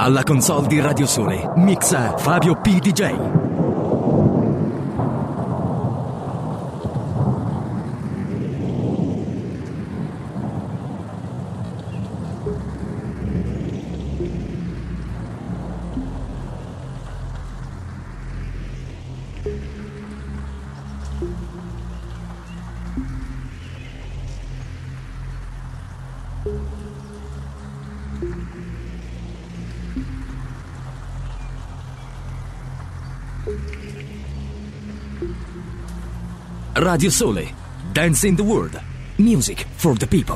Alla console di Radio Sole mixa Fabio P. DJ. Radio Sole, Dance in the World, Music for the People.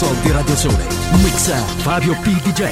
console di Radio Sole. Mixa Fabio P. DJ.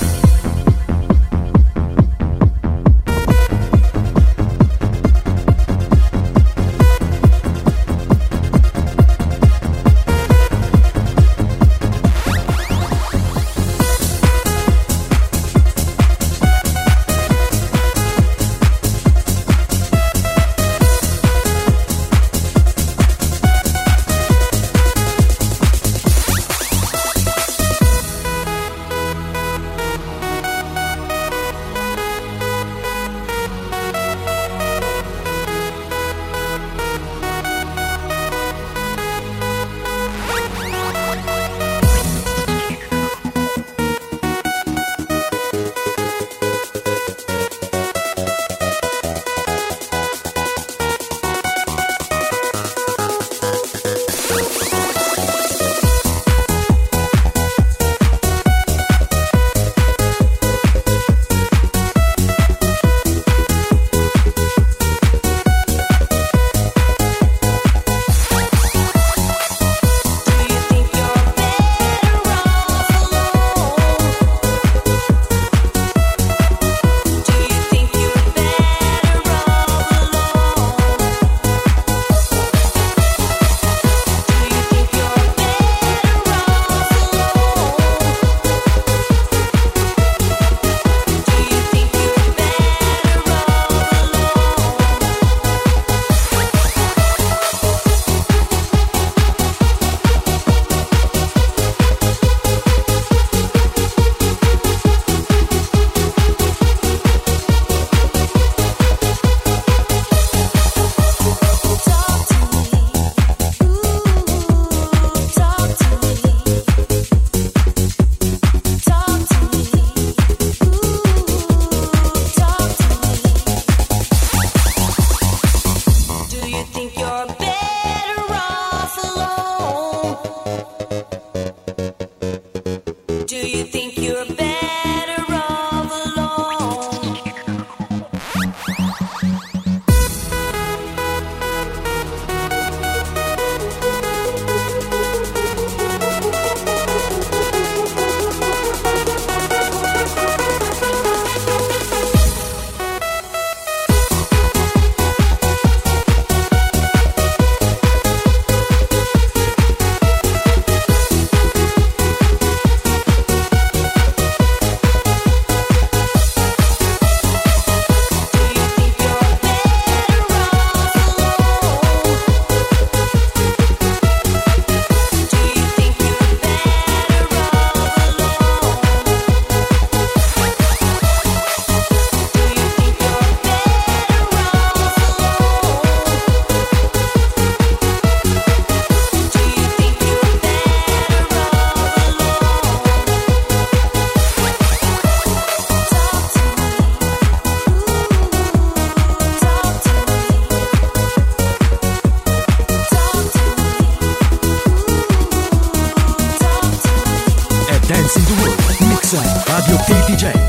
Dancing the World, Mixa Fabio P. DJ.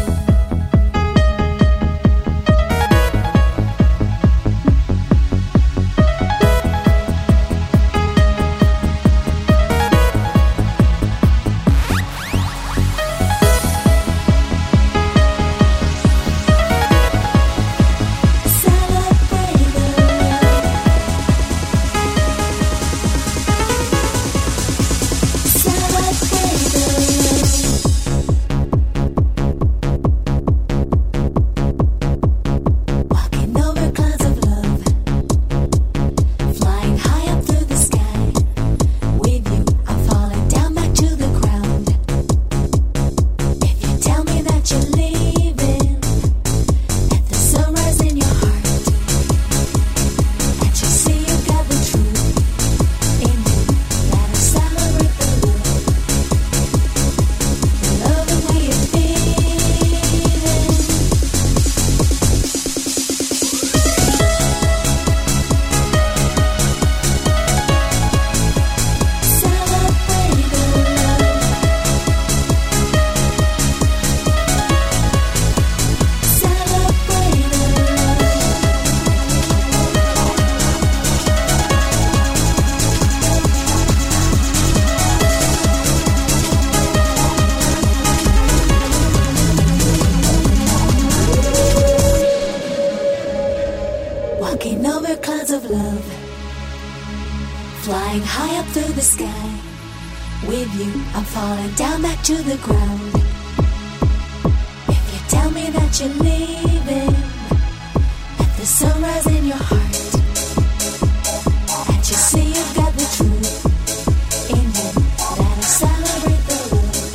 Walking over clouds of love, flying high up through the sky. With you, I'm falling down back to the ground. If you tell me that you're leaving, let the sunrise in your heart. Can't you see you've got the truth in you? That'll celebrate the love,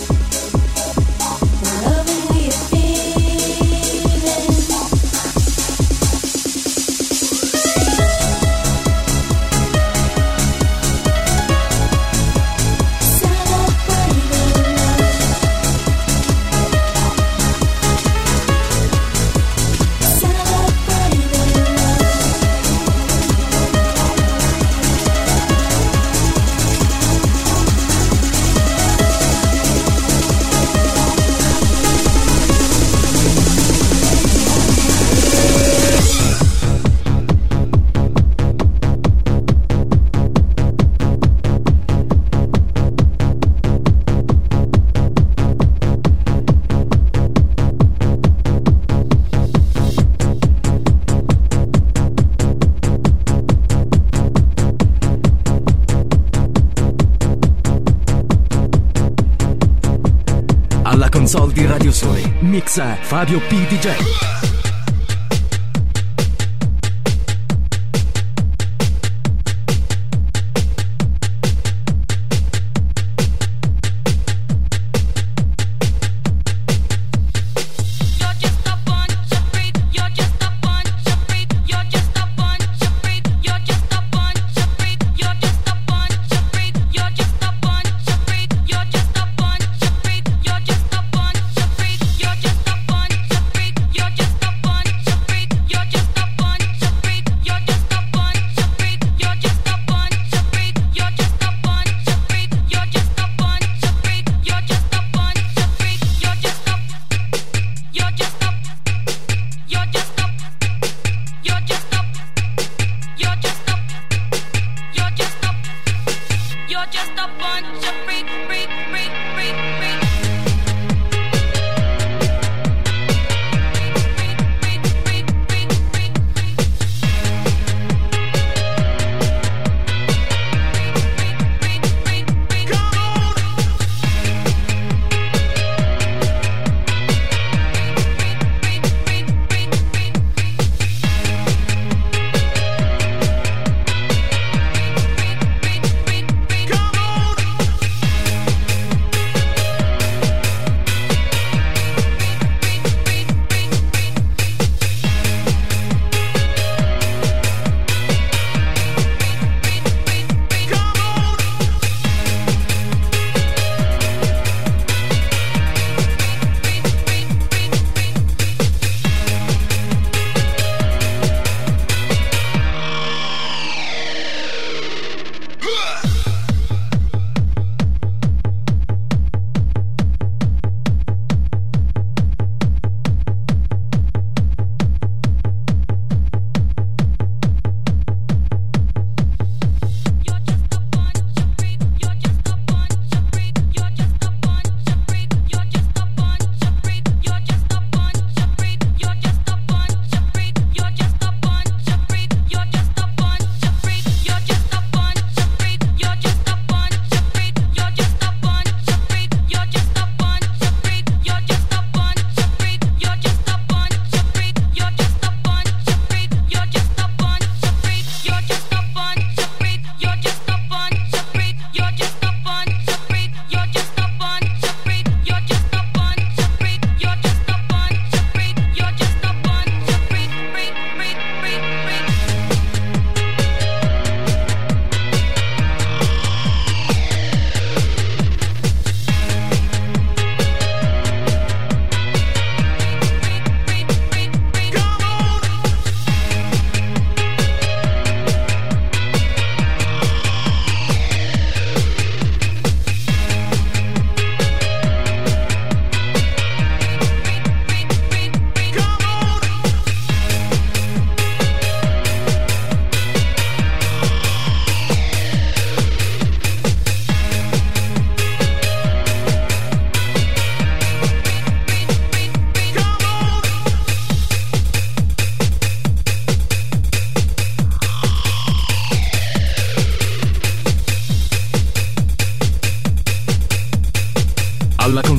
the loving way you're feeling. Celebrate the love. Celebrate the love. Alla console di Radio Sole mixa Fabio P. DJ. You're just a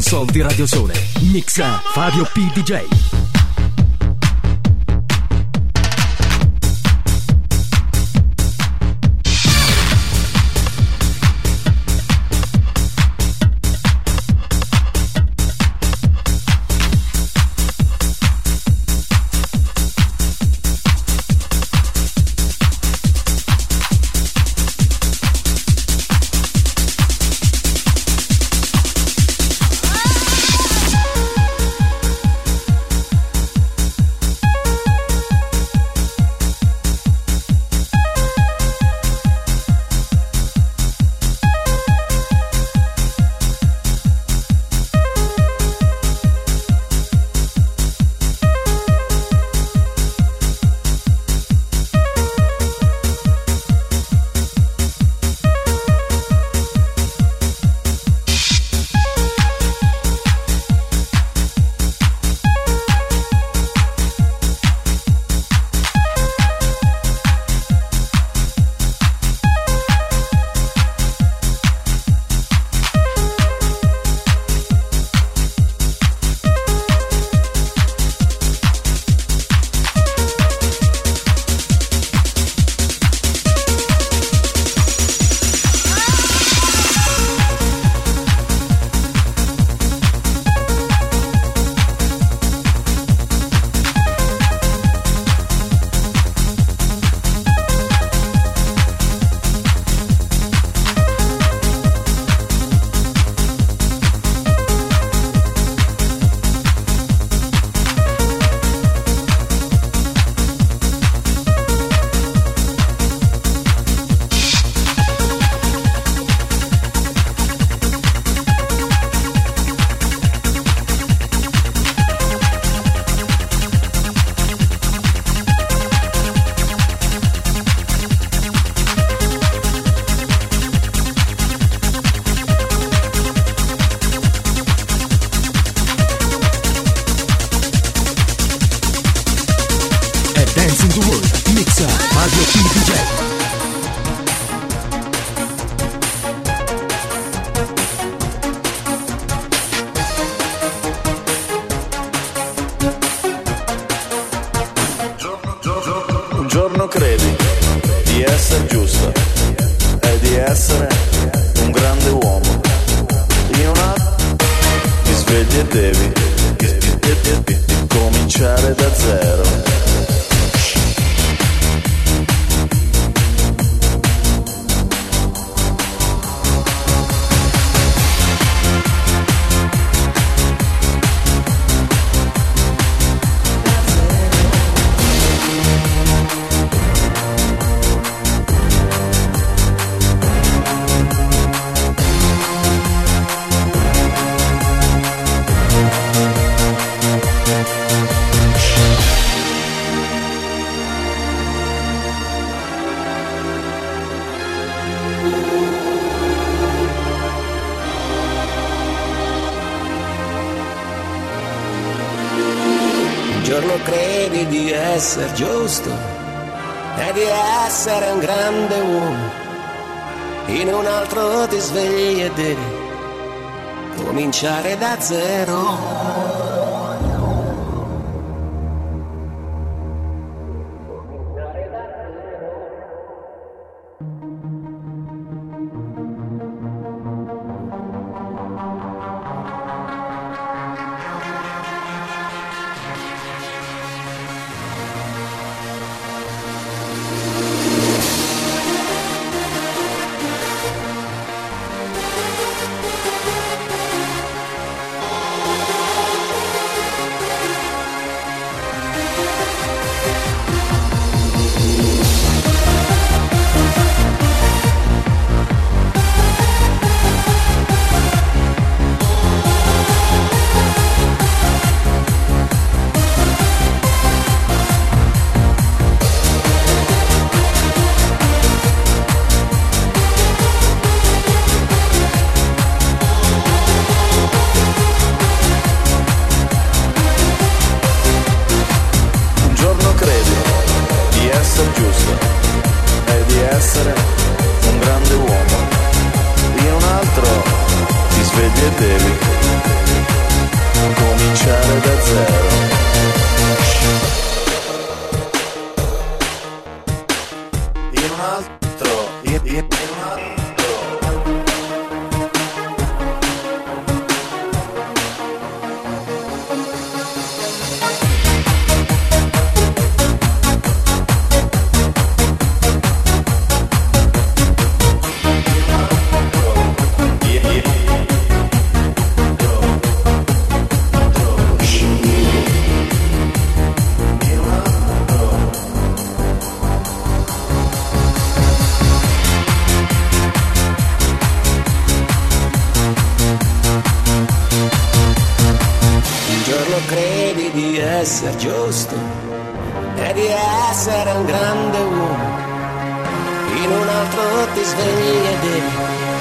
console di Radio Sole. Mixa Fabio P. DJ. Dancing the World, mixa Fabio P. DJ. Un giorno credi di essere giusto e di essere un grande uomo. In un attimo ti svegli e devi cominciare da zero. Un giorno credi di essere giusto e di essere un grande uomo, in un altro ti svegli e devi cominciare da zero. svegli e devi Credi di essere giusto e di essere un grande uomo, in un altro ti svegli e devi.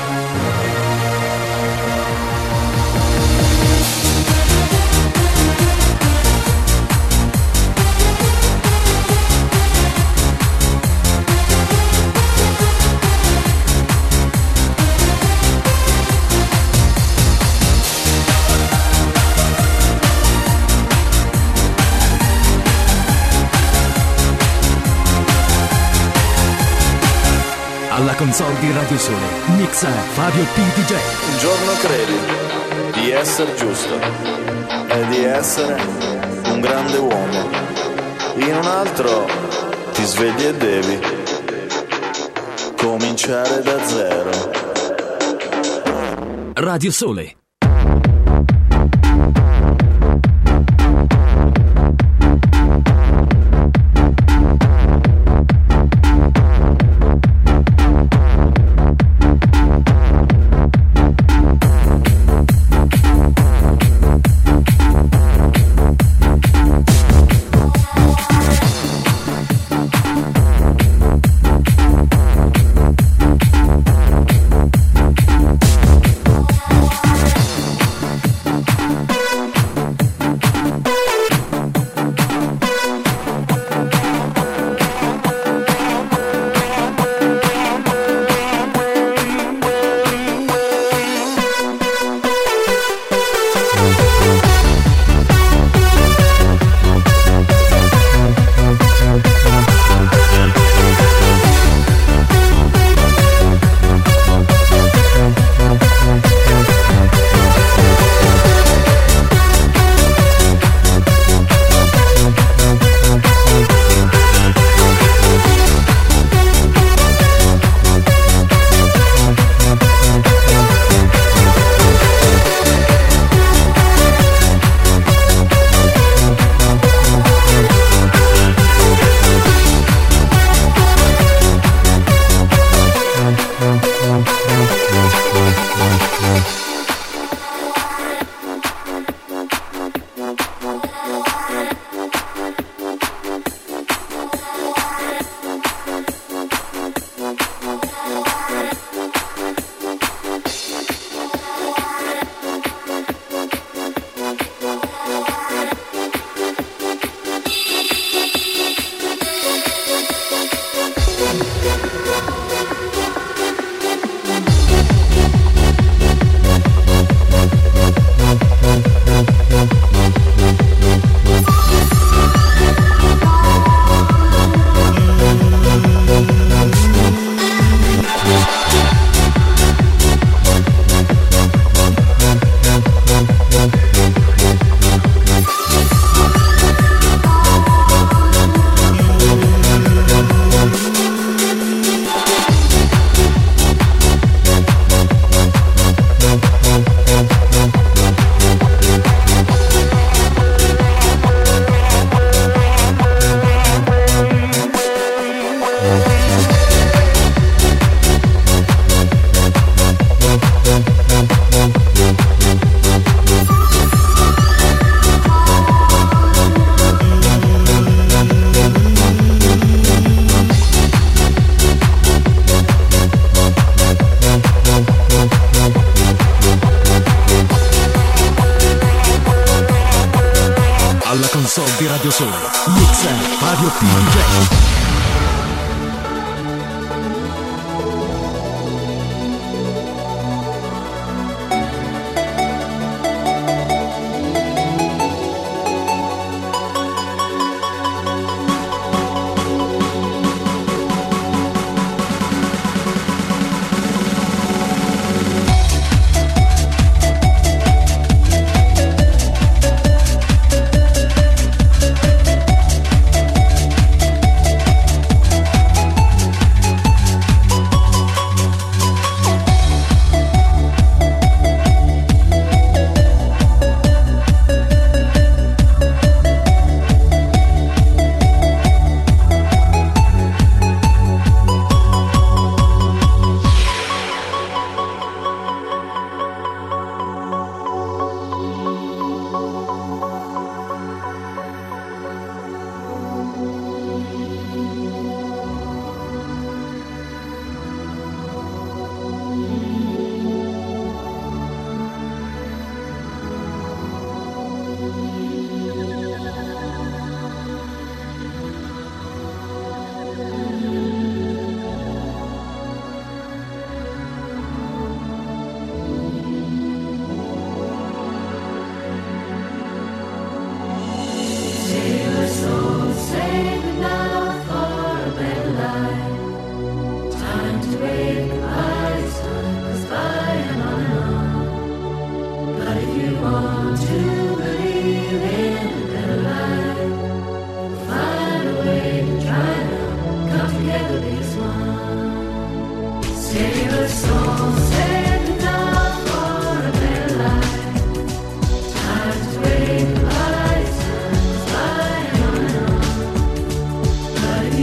Alla console di Radio Sole, mixa Fabio P. DJ. Un giorno credi di essere giusto e di essere un grande uomo, in un altro ti svegli e devi cominciare da zero. Radio Sole. console di Radio Sole. Mixa Fabio P. DJ.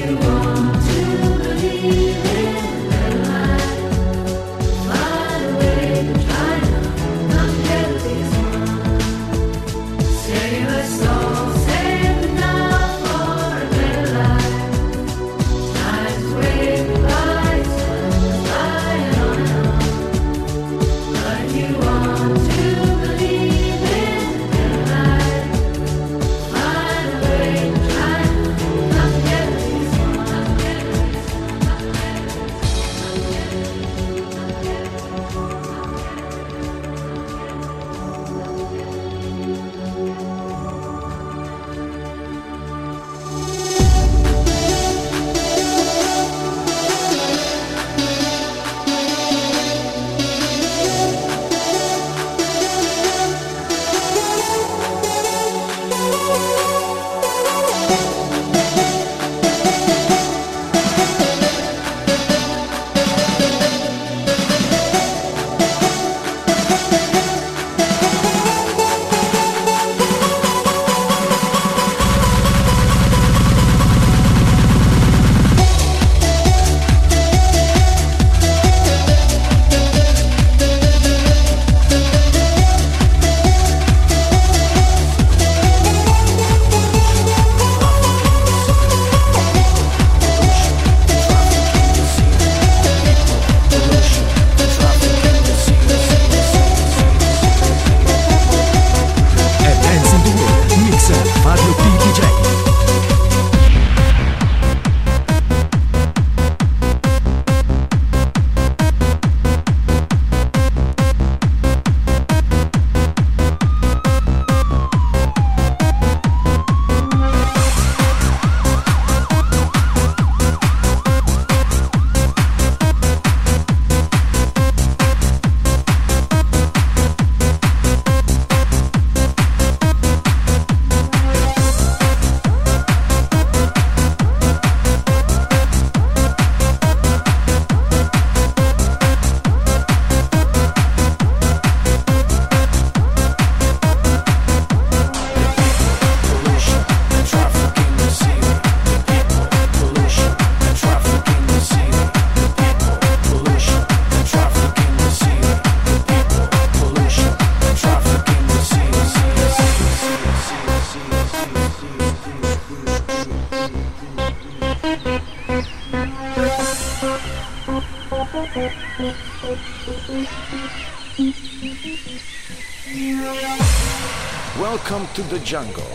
Welcome to the jungle.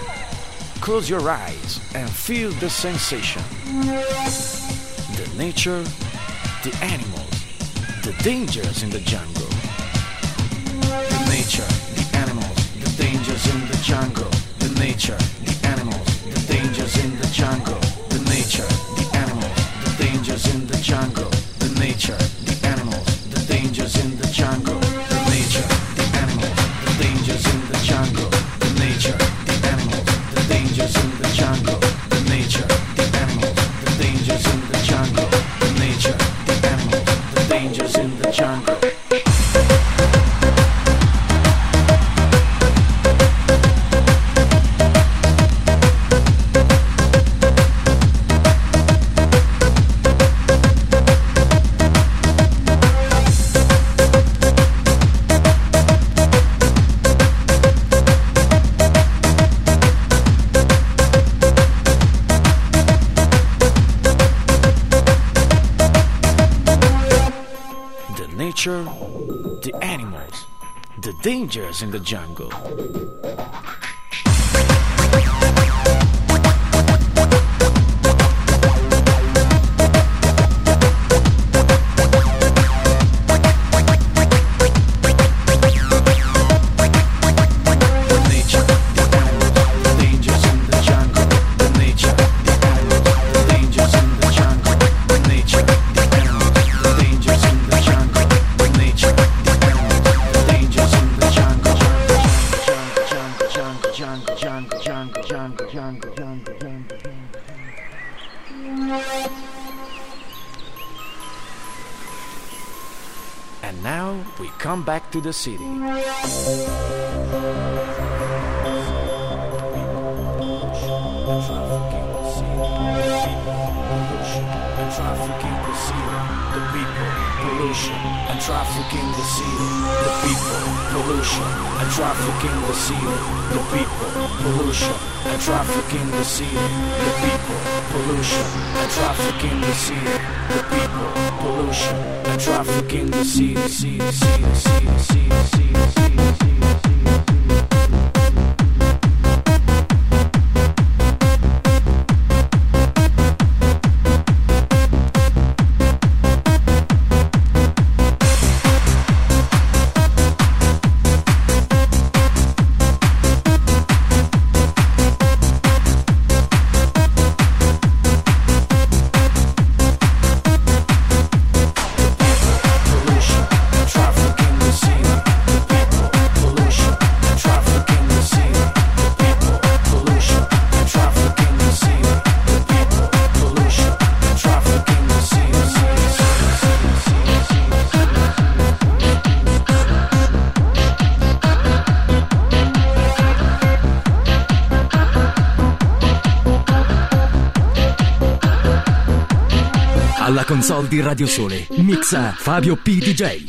Close your eyes and feel the sensation. The nature, the animals, the dangers in the jungle. The nature, the animals, the dangers in the jungle. The nature, the animals, the dangers in the jungle. The nature, the animals, the dangers in the jungle. The nature, the animals, the dangers in the jungle. The nature, the animals, the dangers in the jungle. The nature, the animals, the dangers in the jungle. The nature, the animals, the dangers in the jungle. The nature, the animals, the dangers in the jungle. The animals, the dangers in the jungle. And now we come back to the city. traffic in the city, the people, pollution and traffic in the city, the people, pollution and traffic in the city, the people, pollution and traffic in the city, the people, pollution and traffic in the city, the people, pollution and traffic in the city, Alla console di Radio Sole mixa Fabio P. DJ.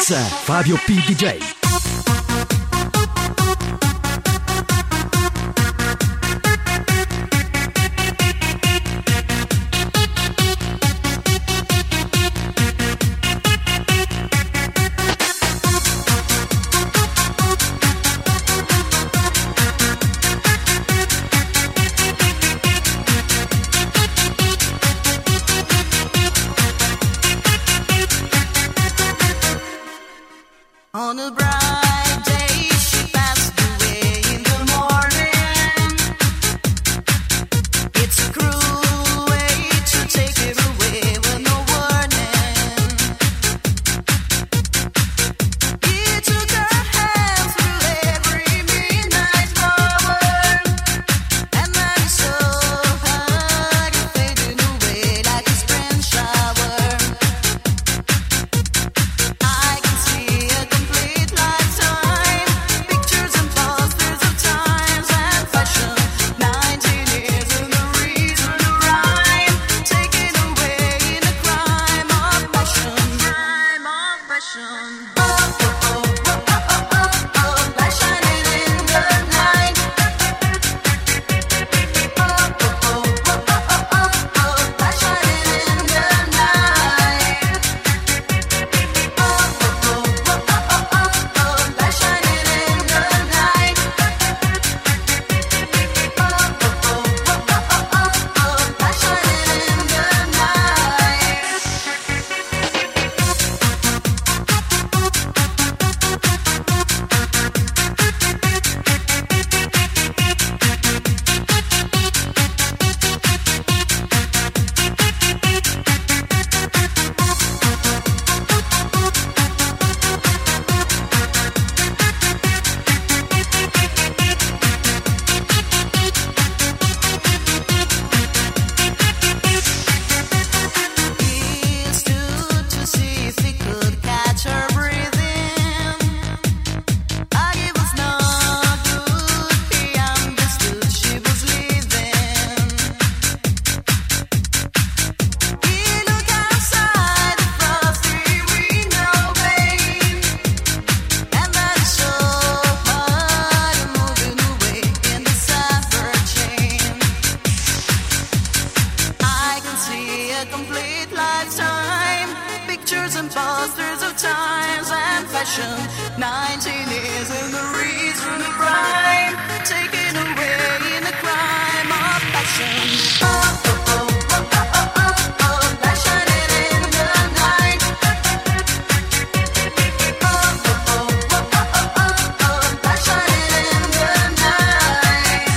mix Fabio P. DJ. On a bright day, she passed away in the morning. It's a cruel way to take it away with no warning. He took her hand through every midnight hour, and then he saw her fading away like a spring shower. I can see a complete lifetime, pictures and posters of times and fashion. 19 years and the reason to rhyme, taken away in a crime of passion. Crime of passion. Oh, oh, oh, oh, oh, oh, oh, light shining in the night. Oh, oh, oh, oh, oh, oh, oh, light shining in the night. Oh, oh, oh, oh, oh, oh, oh, light shining in the night. Oh, oh, oh, oh, oh, oh, oh, light shining in the He stood to see if he could catch her breathing. It was not good. He understood she was leaving. He looked outside the frosty window pane, and then he saw her moving away in the summer chain. I can see a complete lifetime, pictures and posters of times and fashion. 19 years and the reason to rhyme, taken away in a crime of passion. Oh, oh, oh, oh, oh, oh, oh, light shining in the night. Oh, oh, oh, oh, oh, oh, oh, light shining in the night.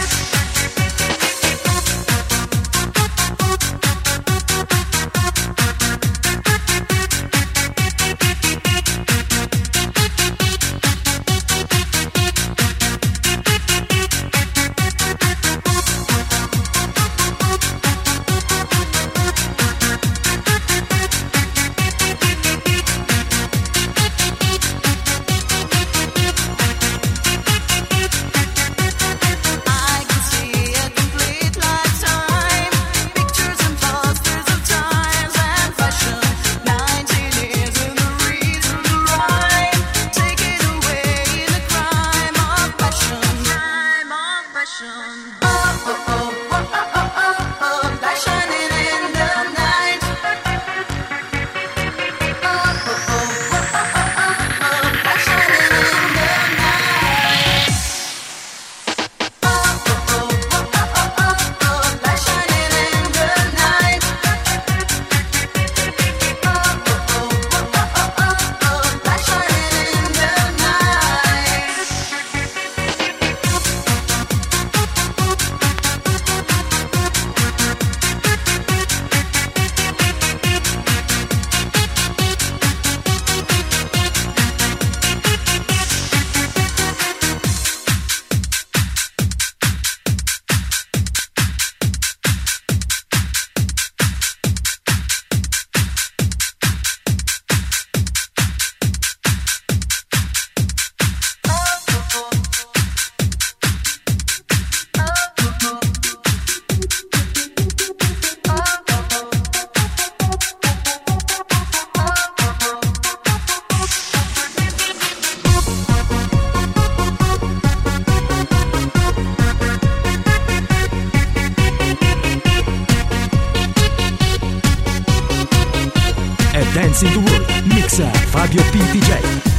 Dance in the World, mixa Fabio P. DJ.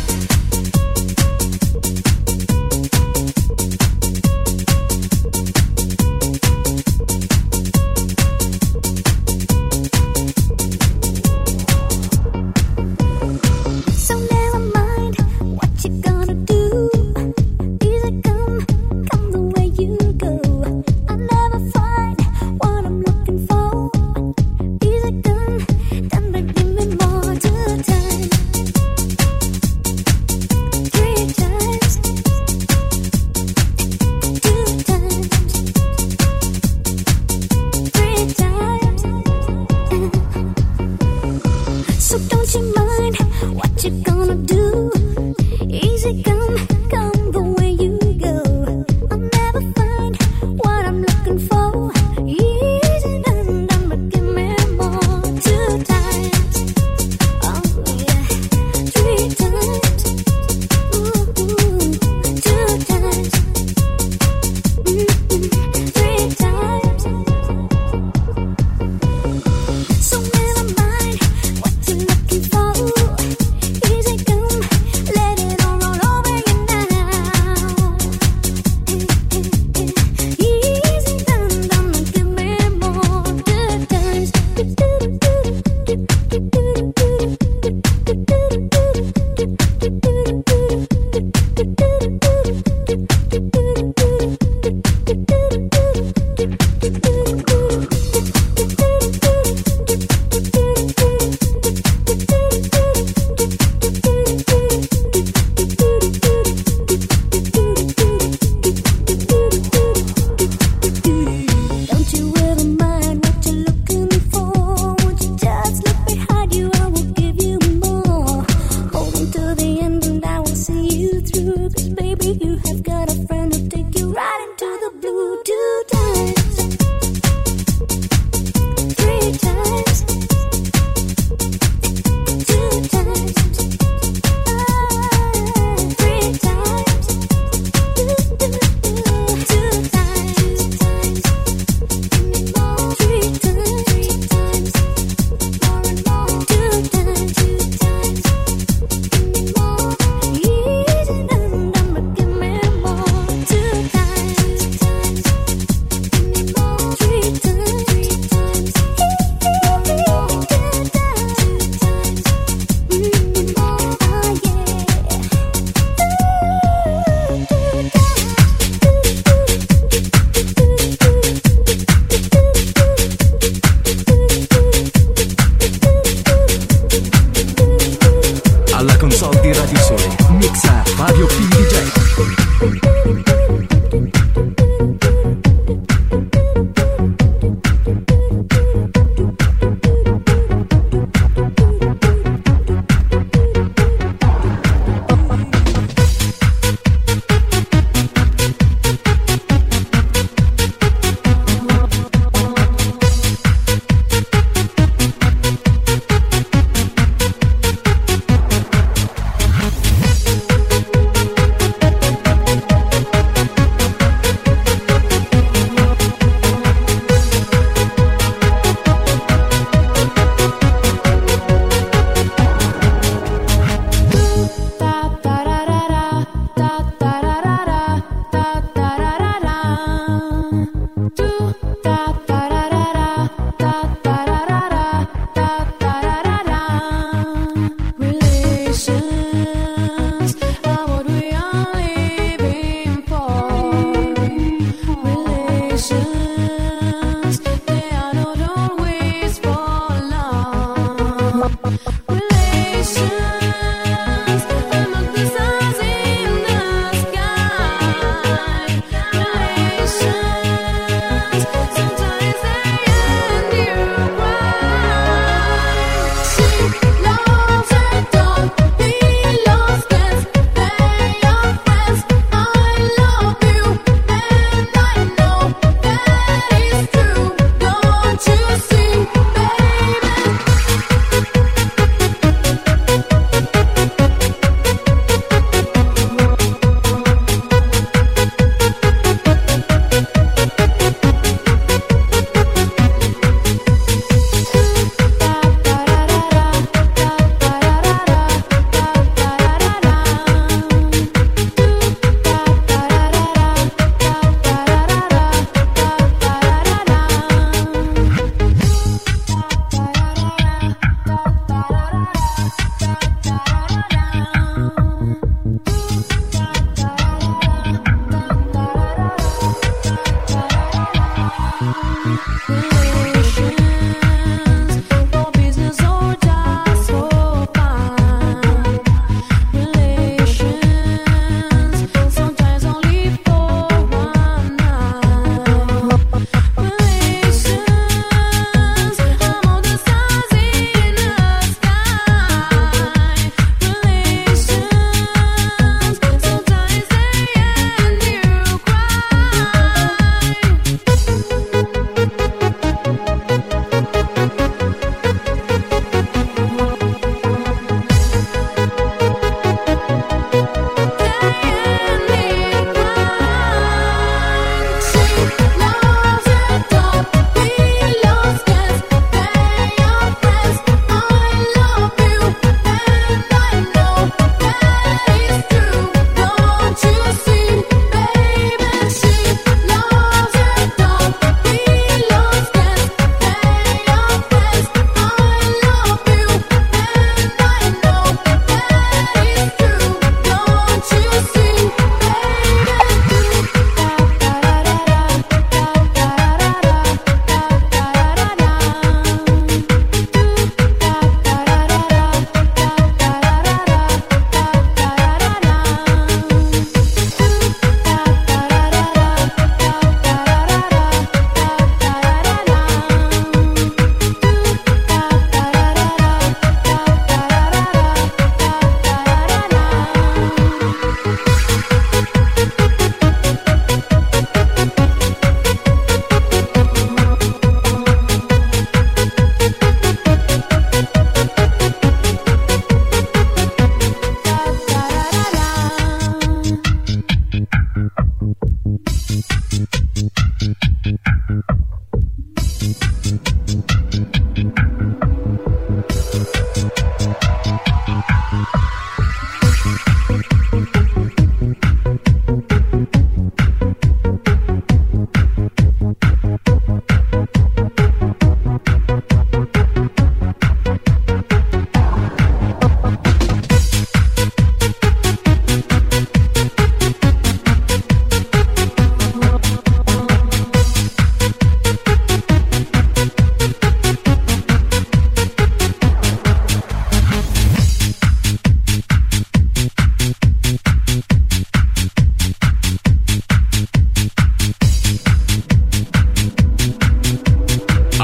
So never mind what you gonna do. Easy come the way you go. I'll never find what I'm looking for. Easy come, then give me more two times. 3 times. 2 times. 3 times. So don't you mind what you gonna do? Easy come the way you go. I'll never find what I'm looking for. Easy done, but give me more. 2 times. Oh yeah. 3 times. Ooh, 2 times. 3 times. So never mind what you're looking for. Easy come, let it all roll over you now. Easy done, give me more. 2 times. 'Don't you ever mind what you're looking for. Won't you just look behind you? I will give you more. Hold on to the end and I will see you through. 'Cause baby, you have got a friend who'll take you right into the blue. 2 times. 3 times. 2 times. 3 times. 2 times. 2 times. 3 times. More and more. 2 times. 2 times. More. Easy done, but give me more.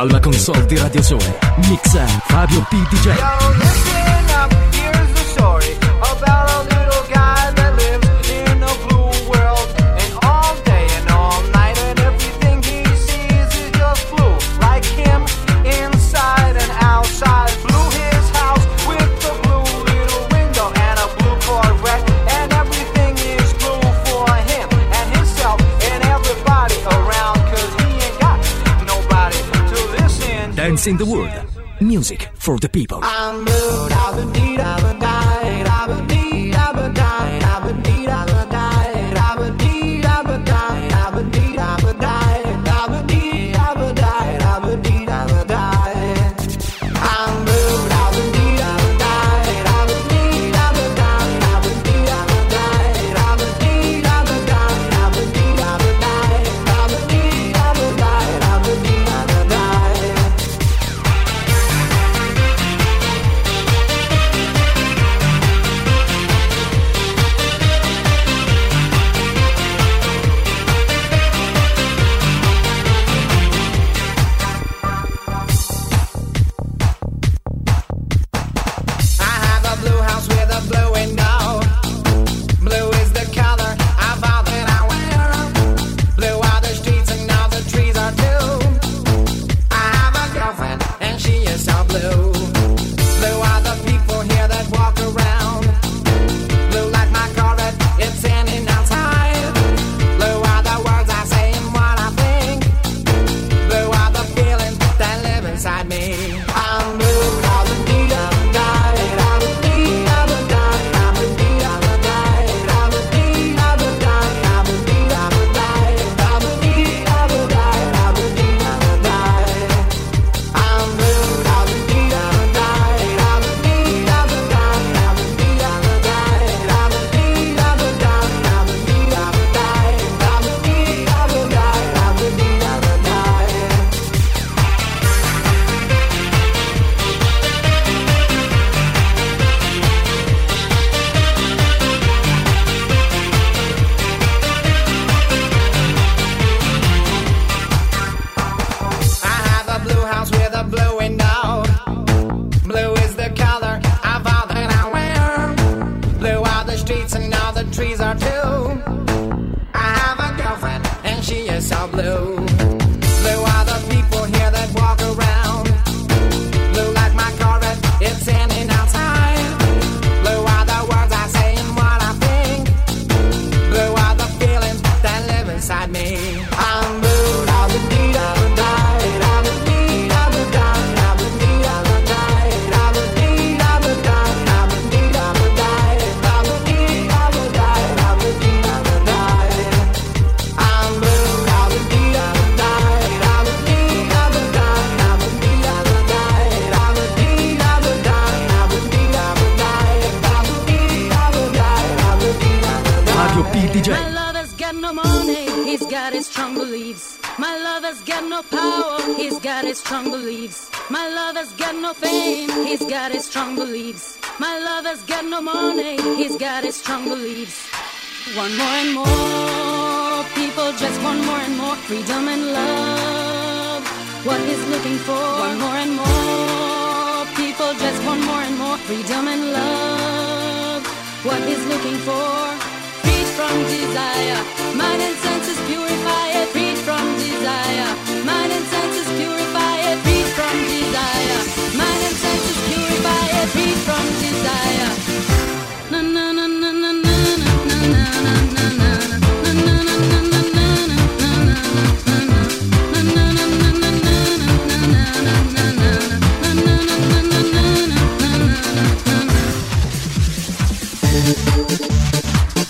Alla console di Radio Sole, mixa Fabio P. DJ. Yo, listen up, here's the story about a little guy that lives in a blue world. And all day and all night and everything he sees is just blue. Like him, inside and outside. Blue his house with the blue little window and a blue Corvette. And everything is blue for him and himself and everybody around. Cause he ain't got nobody to listen to. Dance in the World, music for the people. I'm blue, I've been deed, I've been died, I've been deed, I've been died, I've been deed, I've been died, I've been deed, I've been died, I've been deed, I've been died, I've been deed, I've been died, I've been deed, I've been died. I'm blue, I've been deed, I've been died, I've been deed, I've been died, I've been deed, I've been died, I've been deed, I've been died, I've been deed, I've been died, I've been deed, I've been died, I've been deed, I've been died. I have a blue house with a blue window. Blue is the color of all that I wear. Blue are the streets and all the trees are too. I have a girlfriend and she is so blue. Blue are the people here that walk around. Blue like my Corvette, it's in and outside. Blue are the words I say and what I think. Blue are the feelings that live inside me. I'm blue, I've been deed, I've been died, I've been deed, I've been died, I've been deed, I've been died, I've been deed, I've been died, I've been deed, I've been died, I've been deed, I've been died, I've been deed, I've been died. I'm blue, I've been deed, I've been died, I've been deed, I've been died, I've been deed, I've been died, I've been deed, I've been died, I've been deed, I've been died, I've been deed, I've been died, I've been deed, I've been died. I have a blue house with a blue window. Blue is the color of all that I wear. Blue are the streets and all the trees are too. I have a girlfriend and she is so blue. Blue are the people here that walk around. Blue like my Corvette, it's in and outside. Blue are the words I say and what I think. Blue are the feelings that live inside me. I'm blue, I've been deed, I've been died, I've been deed, I've been died, I've been deed, I've been died, I've been deed, I've been died, I've been deed, I've been died, I've been deed, I've been died, I've been deed, I've been died. I'm blue, I've been deed, I've been died, I've been deed, I've been died, I've been deed, I've been died, I've been deed, I've been died, I've been deed, I've been died, I've been deed, I've been died, I've been deed, I've been died. Fabio P. DJ. My lover's got no money, he's got his strong beliefs. My lover's got no power, he's got his strong beliefs. My lover's got no fame, he's got his strong beliefs. My lover's got no money, he's got his strong beliefs. Want more and more, people just want more and more freedom and love. What he's looking for, want more and more, people just want more and more freedom and love. What he's looking for. Freed from desire, mind and senses purify it. Freed from desire, mind and senses purify it. Freed from desire, mind and senses purify it. Freed from desire. Na na na na na na na na na na na na na na na na.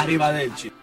Arrivederci.